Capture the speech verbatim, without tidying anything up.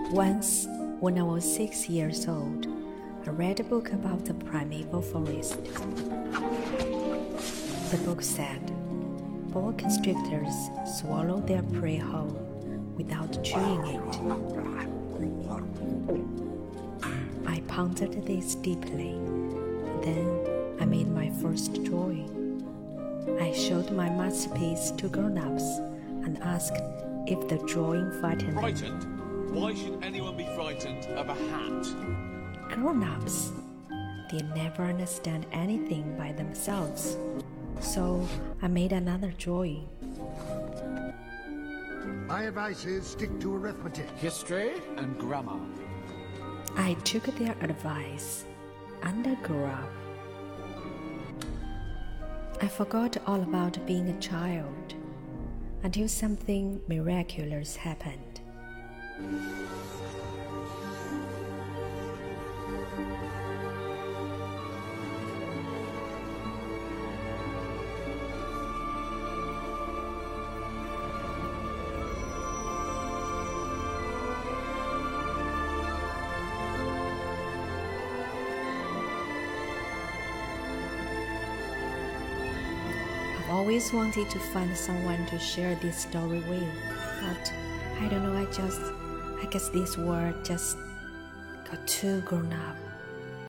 Once, when I was six years old, I read a book about the primeval forest. The book said, boa constrictors swallow their prey whole without chewing it. I pondered this deeply. Then I made my first drawing. I showed my masterpiece to grown-ups and asked if the drawing frightened them. Frightened? Why should anyone be frightened of a hat? Grown-ups, they never understand anything by themselves. So I made another drawing. My advice is stick to arithmetic, History and grammar. I took their advice and I grew up. I forgot all about being a child until something miraculous happened. I've always wanted to find someone to share this story with, but I don't know, I just, I guess this world just got too grown up.